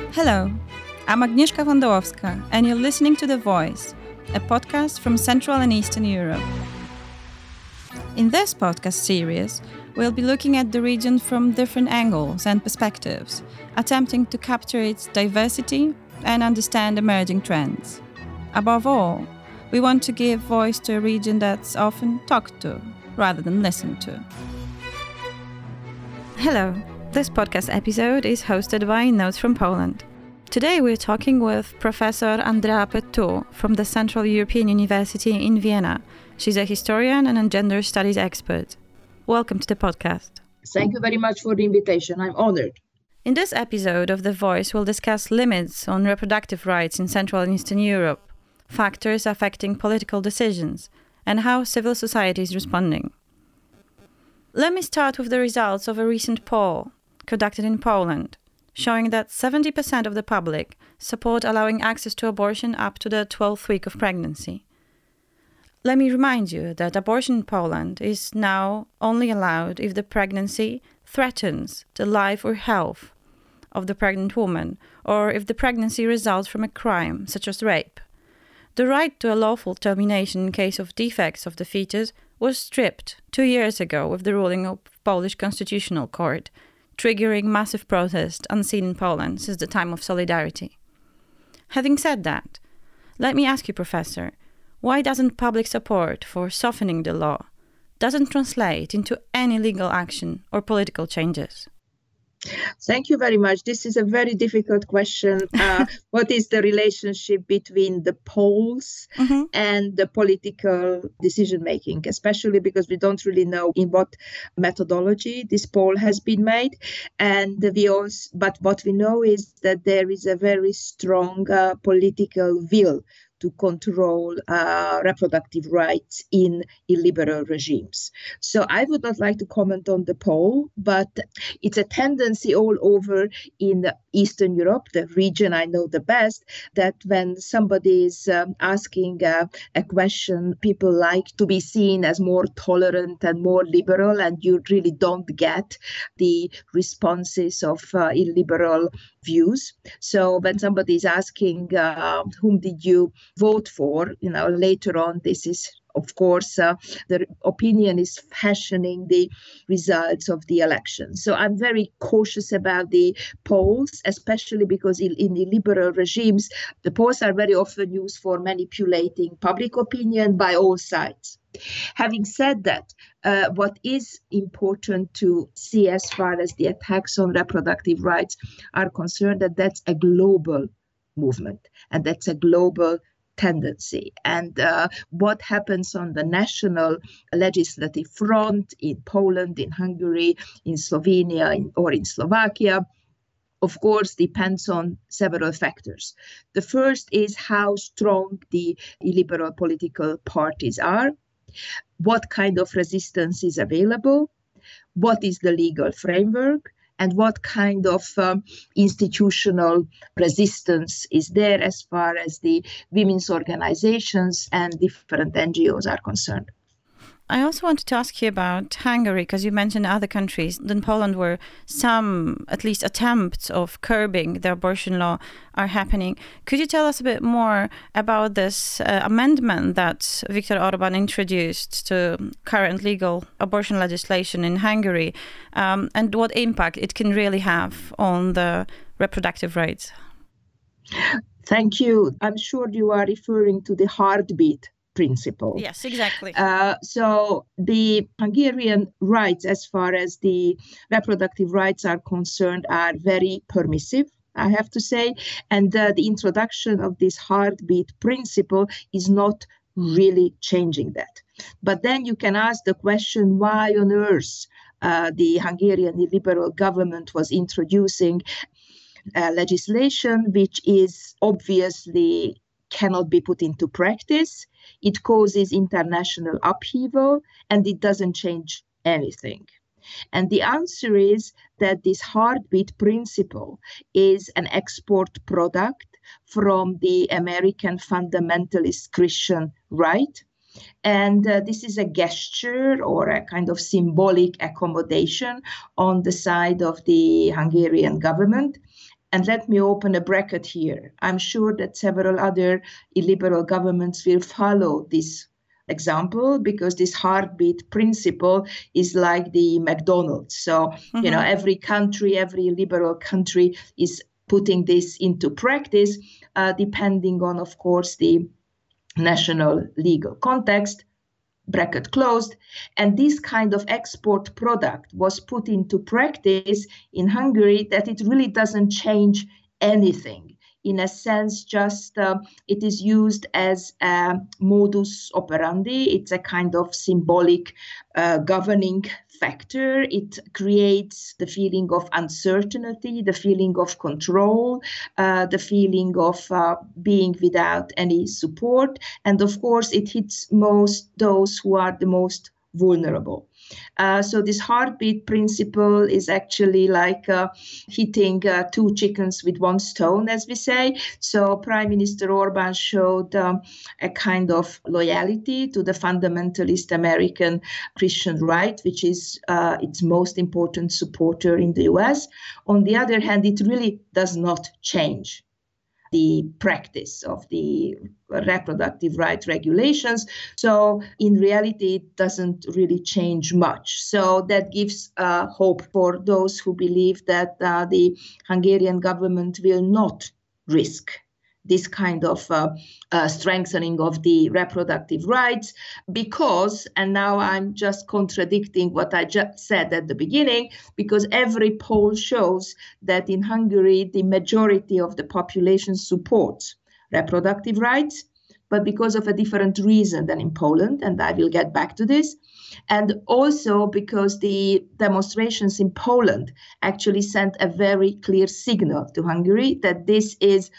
Hello, I'm Agnieszka Wondałowska, and you're listening to The Voice, a podcast from Central and Eastern Europe. In this podcast series, we'll be looking at the region from different angles and perspectives, attempting to capture its diversity and understand emerging trends. Above all, we want to give voice to a region that's often talked to rather than listened to. Hello, this podcast episode is hosted by Notes from Poland. Today we're talking with Professor Andrea Pettu from the Central European University in Vienna. She's a historian and a gender studies expert. Welcome to the podcast. Thank you very much for the invitation. I'm honored. In this episode of The Voice, we'll discuss limits on reproductive rights in Central and Eastern Europe, factors affecting political decisions, and how civil society is responding. Let me start with the results of a recent poll conducted in Poland, showing that 70% of the public support allowing access to abortion up to the 12th week of pregnancy. Let me remind you that abortion in Poland is now only allowed if the pregnancy threatens the life or health of the pregnant woman, or if the pregnancy results from a crime, such as rape. The right to a lawful termination in case of defects of the fetus was stripped 2 years ago with the ruling of Polish Constitutional Court, triggering massive protest unseen in Poland since the time of Solidarity. Having said that, let me ask you, Professor, why doesn't public support for softening the law doesn't translate into any legal action or political changes? Thank you very much. This is a very difficult question. What is the relationship between the polls and the political decision-making, especially because we don't really know in what methodology this poll has been made. But what we know is that there is a very strong political will to control reproductive rights in illiberal regimes. So I would not like to comment on the poll, but it's a tendency all over in Eastern Europe, the region I know the best, that when somebody is asking a question, people like to be seen as more tolerant and more liberal, and you really don't get the responses of illiberal views. So when somebody is asking, whom did you vote for, later on, this is, of course, the opinion is fashioning the results of the election. So I'm very cautious about the polls, especially because in illiberal regimes, the polls are very often used for manipulating public opinion by all sides. Having said that, what is important to see as far as the attacks on reproductive rights are concerned, that's a global movement and that's a global tendency. And what happens on the national legislative front in Poland, in Hungary, in Slovenia, or in Slovakia, of course, depends on several factors. The first is how strong the illiberal political parties are, what kind of resistance is available, what is the legal framework, and what kind of institutional resistance is there as far as the women's organizations and different NGOs are concerned. I also wanted to ask you about Hungary, because you mentioned other countries than Poland where some, at least attempts of curbing the abortion law are happening. Could you tell us a bit more about this amendment that Viktor Orban introduced to current legal abortion legislation in Hungary, and what impact it can really have on the reproductive rights? Thank you. I'm sure you are referring to the heartbeat principle. Yes, exactly. So the Hungarian rights, as far as the reproductive rights are concerned, are very permissive, I have to say. And the introduction of this heartbeat principle is not really changing that. But then you can ask the question, why on earth the Hungarian liberal government was introducing legislation which is obviously cannot be put into practice. It causes international upheaval and it doesn't change anything. And the answer is that this heartbeat principle is an export product from the American fundamentalist Christian right. And this is a gesture or a kind of symbolic accommodation on the side of the Hungarian government. And let me open a bracket here. I'm sure that several other illiberal governments will follow this example, because this heartbeat principle is like the McDonald's. So, every country, every liberal country is putting this into practice, depending on, of course, the national legal context. Bracket closed. And this kind of export product was put into practice in Hungary, that it really doesn't change anything. In a sense, just it is used as a modus operandi. It's a kind of symbolic governing factor. It creates the feeling of uncertainty, the feeling of control, the feeling of being without any support. And of course, it hits most those who are the most vulnerable. So this heartbeat principle is actually like hitting two chickens with one stone, as we say. So Prime Minister Orbán showed a kind of loyalty to the fundamentalist American Christian right, which is its most important supporter in the US. On the other hand, it really does not change the practice of the reproductive right regulations. So in reality, it doesn't really change much. So that gives hope for those who believe that the Hungarian government will not risk this kind of strengthening of the reproductive rights, because, and now I'm just contradicting what I just said at the beginning, because every poll shows that in Hungary, the majority of the population supports reproductive rights, but because of a different reason than in Poland, and I will get back to this. And also because the demonstrations in Poland actually sent a very clear signal to Hungary that this is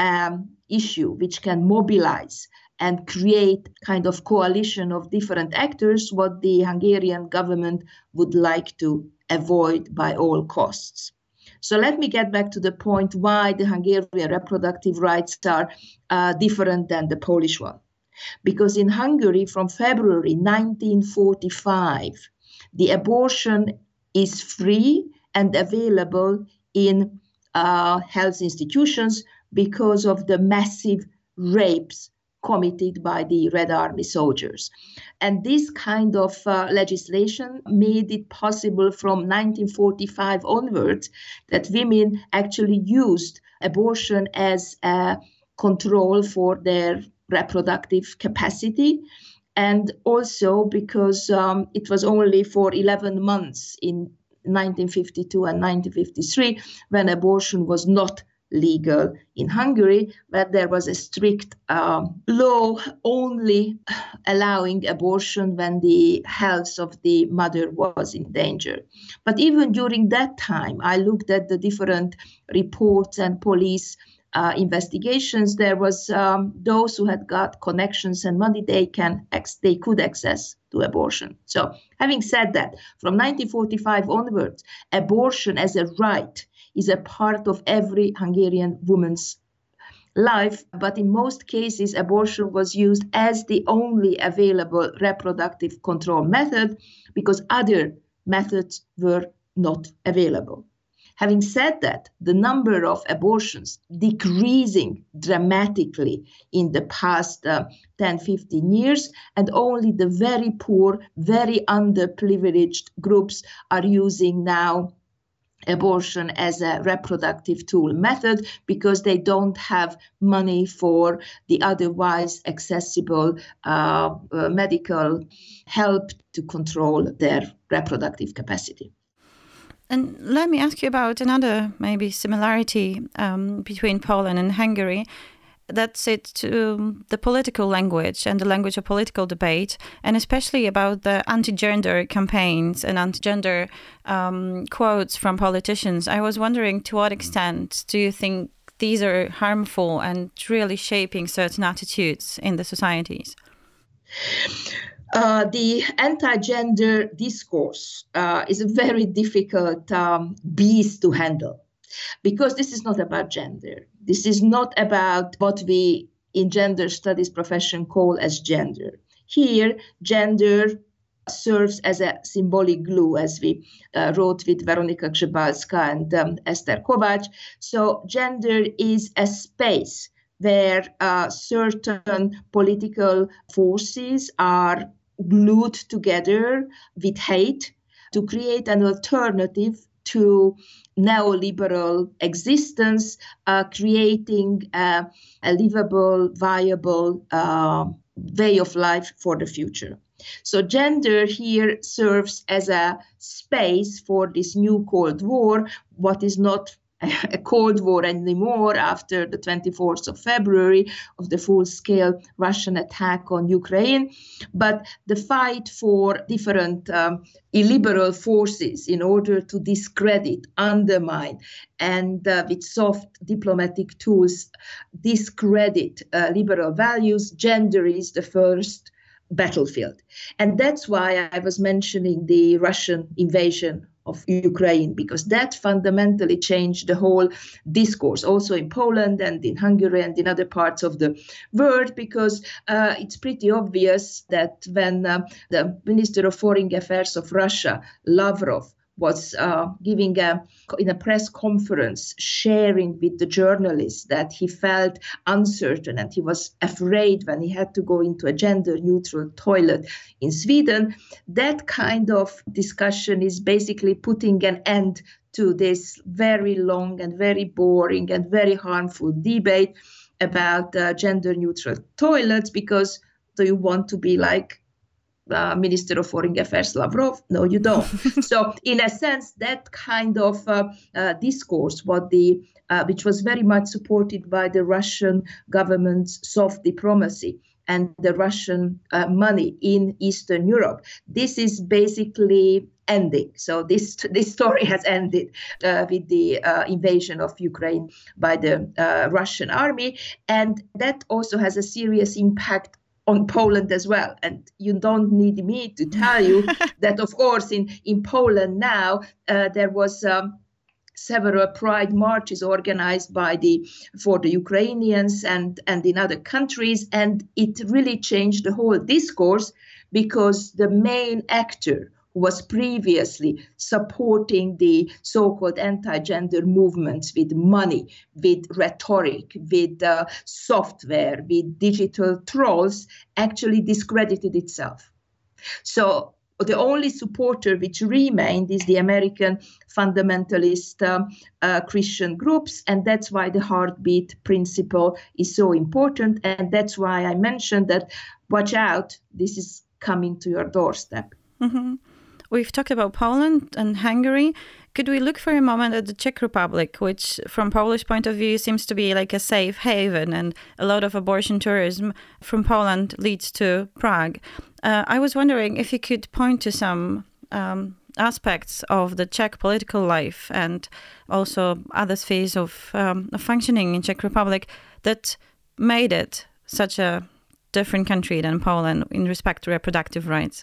issue which can mobilize and create kind of coalition of different actors, what the Hungarian government would like to avoid by all costs. So let me get back to the point why the Hungarian reproductive rights are different than the Polish one. Because in Hungary, from February 1945, the abortion is free and available in health institutions because of the massive rapes committed by the Red Army soldiers. And this kind of legislation made it possible from 1945 onwards that women actually used abortion as a control for their reproductive capacity. And also because it was only for 11 months in 1952 and 1953 when abortion was not legal in Hungary, but there was a strict law only allowing abortion when the health of the mother was in danger. But even during that time, I looked at the different reports and police investigations. There was those who had got connections and money, they could access to abortion. So having said that, from 1945 onwards, abortion as a right is a part of every Hungarian woman's life, but in most cases, abortion was used as the only available reproductive control method because other methods were not available. Having said that, the number of abortions decreasing dramatically in the past 10-15 years, and only the very poor, very underprivileged groups are using now abortion as a reproductive tool method because they don't have money for the otherwise accessible medical help to control their reproductive capacity. And let me ask you about another maybe similarity between Poland and Hungary. That's it to the political language and the language of political debate, and especially about the anti-gender campaigns and anti-gender quotes from politicians. I was wondering, to what extent do you think these are harmful and really shaping certain attitudes in the societies? The anti-gender discourse is a very difficult beast to handle. Because this is not about gender. This is not about what we in gender studies profession call as gender. Here, gender serves as a symbolic glue, as we wrote with Veronika Grzebalska and Esther Kovacs. So gender is a space where certain political forces are glued together with hate to create an alternative to neoliberal existence, creating a livable, viable way of life for the future. So gender here serves as a space for this new Cold War, what is not a Cold War anymore after the 24th of February of the full-scale Russian attack on Ukraine, but the fight for different illiberal forces in order to discredit, undermine, and with soft diplomatic tools discredit liberal values. Gender is the first battlefield. And that's why I was mentioning the Russian invasion of Ukraine, because that fundamentally changed the whole discourse, also in Poland and in Hungary and in other parts of the world, because it's pretty obvious that when the Minister of Foreign Affairs of Russia, Lavrov, was giving in a press conference, sharing with the journalists that he felt uncertain and he was afraid when he had to go into a gender-neutral toilet in Sweden. That kind of discussion is basically putting an end to this very long and very boring and very harmful debate about gender-neutral toilets, because do you want to be like Minister of Foreign Affairs Lavrov? No, you don't. So in a sense, that kind of discourse, which was very much supported by the Russian government's soft diplomacy and the Russian money in Eastern Europe, this is basically ending. So this story has ended with the invasion of Ukraine by the Russian army. And that also has a serious impact on Poland as well. And you don't need me to tell you that, of course, in Poland now, there was several pride marches organized for the Ukrainians and in other countries. And it really changed the whole discourse, because the main actor who was previously supporting the so-called anti-gender movements with money, with rhetoric, with software, with digital trolls, actually discredited itself. So the only supporter which remained is the American fundamentalist Christian groups, and that's why the heartbeat principle is so important. And that's why I mentioned that, watch out, this is coming to your doorstep. Mm-hmm. We've talked about Poland and Hungary. Could we look for a moment at the Czech Republic, which from Polish point of view seems to be like a safe haven, and a lot of abortion tourism from Poland leads to Prague. I was wondering if you could point to some aspects of the Czech political life and also other spheres of functioning in Czech Republic that made it such a different country than Poland in respect to reproductive rights.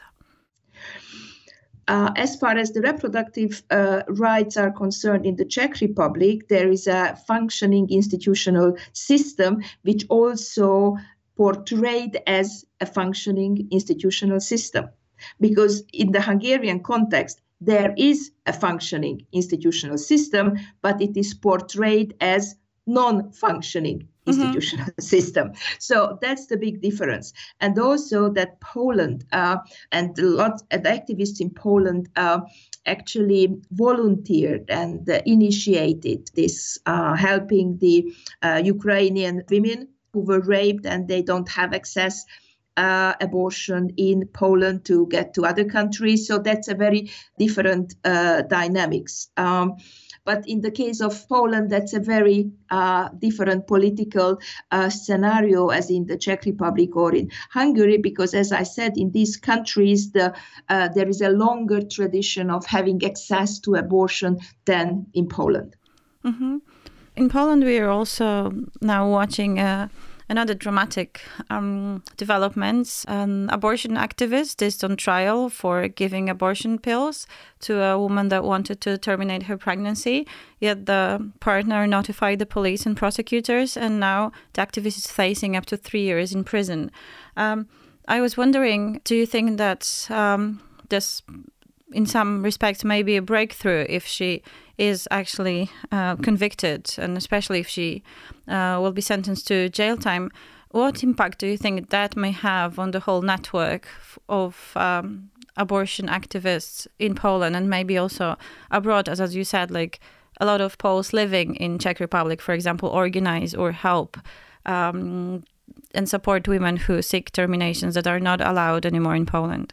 As far as the reproductive rights are concerned in the Czech Republic, there is a functioning institutional system which also portrayed as a functioning institutional system. Because in the Hungarian context, there is a functioning institutional system, but it is portrayed as non-functioning institutional system. So that's the big difference. And also that Poland and a lot of activists in Poland actually volunteered and initiated this, helping the Ukrainian women who were raped and they don't have access abortion in Poland to get to other countries. So that's a very different dynamics. But in the case of Poland, that's a very different political scenario as in the Czech Republic or in Hungary, because as I said, in these countries, there is a longer tradition of having access to abortion than in Poland. Mm-hmm. In Poland, we are also now watching another dramatic developments. An abortion activist is on trial for giving abortion pills to a woman that wanted to terminate her pregnancy. Yet the partner notified the police and prosecutors, and now the activist is facing up to 3 years in prison. I was wondering, do you think that this, in some respects, may be a breakthrough if she is actually convicted, and especially if she will be sentenced to jail time. What impact do you think that may have on the whole network of abortion activists in Poland and maybe also abroad? As you said, like a lot of Poles living in Czech Republic, for example, organize or help and support women who seek terminations that are not allowed anymore in Poland.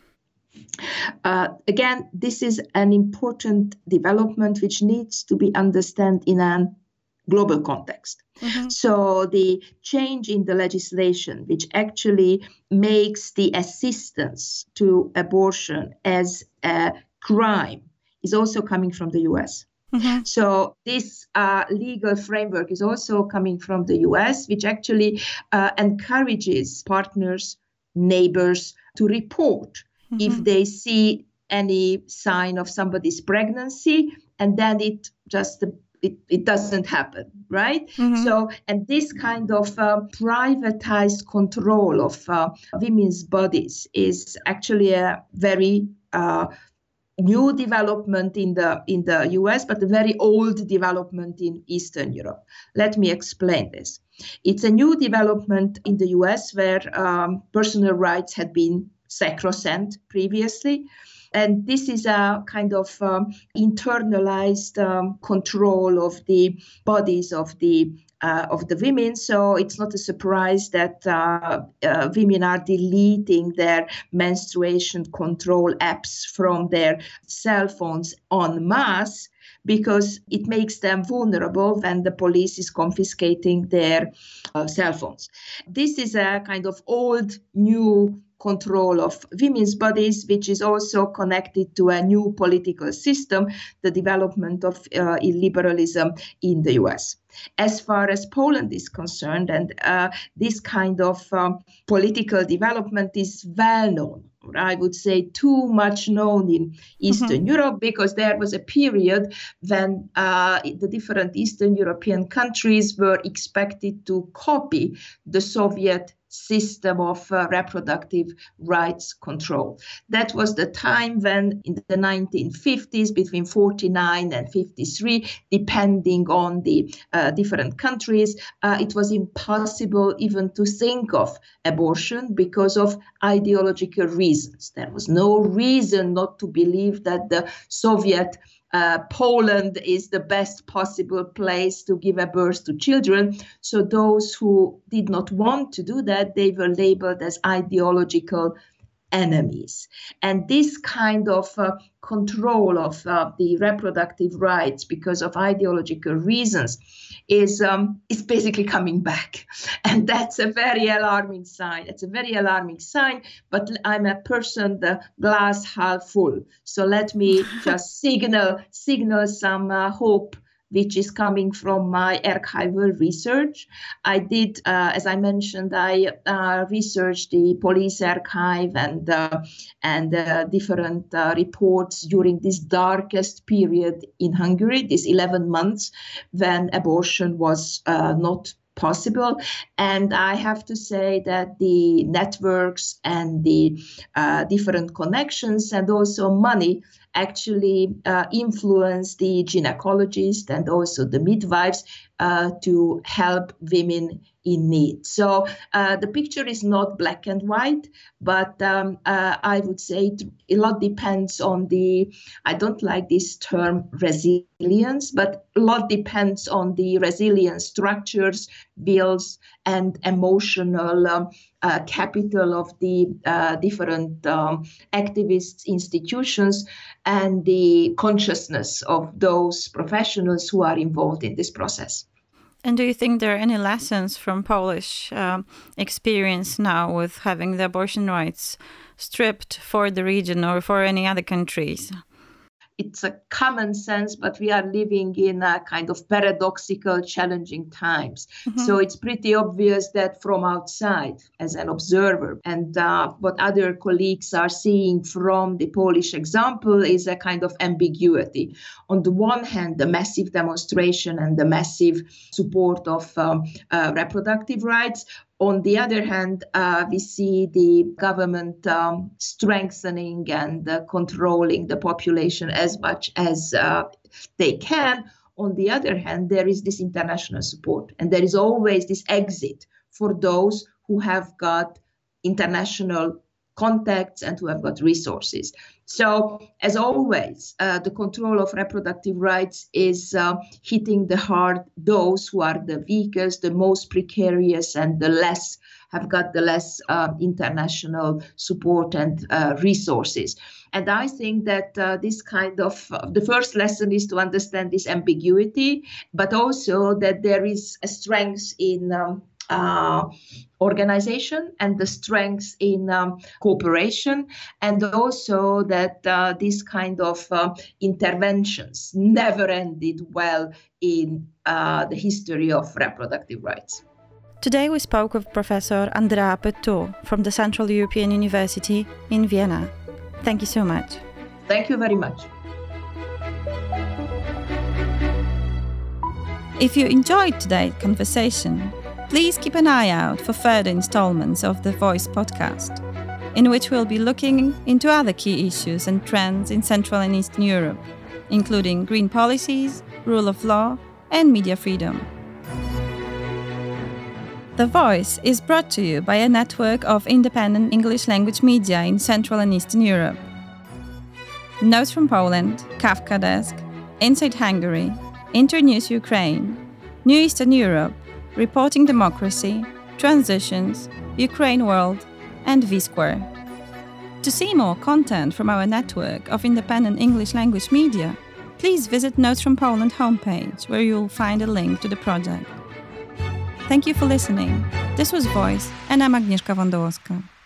Again, this is an important development which needs to be understood in a global context. Mm-hmm. So the change in the legislation, which actually makes the assistance to abortion as a crime, is also coming from the US. Mm-hmm. So this legal framework is also coming from the US, which actually encourages partners, neighbors to report if they see any sign of somebody's pregnancy, and then it doesn't happen, right? Mm-hmm. So, and this kind of privatized control of women's bodies is actually a very new development in the US, but a very old development in Eastern Europe. Let me explain this. It's a new development in the US where personal rights had been sacrosanct previously. And this is a kind of internalized control of the bodies of the women. So it's not a surprise that women are deleting their menstruation control apps from their cell phones en masse, because it makes them vulnerable when the police is confiscating their cell phones. This is a kind of old, new control of women's bodies, which is also connected to a new political system, the development of illiberalism in the US. As far as Poland is concerned, and this kind of political development is well known, I would say too much known in Eastern Europe, because there was a period when the different Eastern European countries were expected to copy the Soviet system of reproductive rights control. That was the time when in the 1950s, between 49 and 53, depending on the different countries, it was impossible even to think of abortion because of ideological reasons. There was no reason not to believe that the Soviet Poland is the best possible place to give a birth to children. So those who did not want to do that, they were labeled as ideological enemies. And this kind of control of the reproductive rights because of ideological reasons is basically coming back. And that's a very alarming sign. It's a very alarming sign, but I'm a person, the glass half full. So let me just signal some hope, which is coming from my archival research. I did, as I mentioned, I researched the police archive and different reports during this darkest period in Hungary, these 11 months when abortion was not possible. And I have to say that the networks and the different connections and also money actually influence the gynecologists and also the midwives to help women in need. So the picture is not black and white, but I would say a lot depends on I don't like this term resilience, but a lot depends on the resilient structures, wills, and emotional capital of the different activists, institutions, and the consciousness of those professionals who are involved in this process. And do you think there are any lessons from Polish experience now with having the abortion rights stripped for the region or for any other countries? It's a common sense, but we are living in a kind of paradoxical, challenging times. Mm-hmm. So it's pretty obvious that from outside, as an observer, and what other colleagues are seeing from the Polish example is a kind of ambiguity. On the one hand, the massive demonstration and the massive support of reproductive rights. On the other hand, we see the government strengthening and controlling the population as much as they can. On the other hand, there is this international support, and there is always this exit for those who have got international contacts and who have got resources. So, as always, the control of reproductive rights is hitting the hard those who are the weakest, the most precarious, and the less international support and resources. And I think that this kind of the first lesson is to understand this ambiguity, but also that there is a strength in organization and the strength in cooperation, and also that these kind of interventions never ended well in the history of reproductive rights. Today we spoke with Professor Andrea Petto from the Central European University in Vienna. Thank you so much. Thank you very much. If you enjoyed today's conversation, please keep an eye out for further installments of the Voice podcast, in which we'll be looking into other key issues and trends in Central and Eastern Europe, including green policies, rule of law, and media freedom. The Voice is brought to you by a network of independent English language media in Central and Eastern Europe. Notes from Poland, Kafka Desk, Inside Hungary, Internews Ukraine, New Eastern Europe, Reporting Democracy, Transitions, Ukraine World, and V-Square. To see more content from our network of independent English language media, please visit Notes from Poland homepage, where you'll find a link to the project. Thank you for listening. This was Voice, and I'm Agnieszka Wądołowska.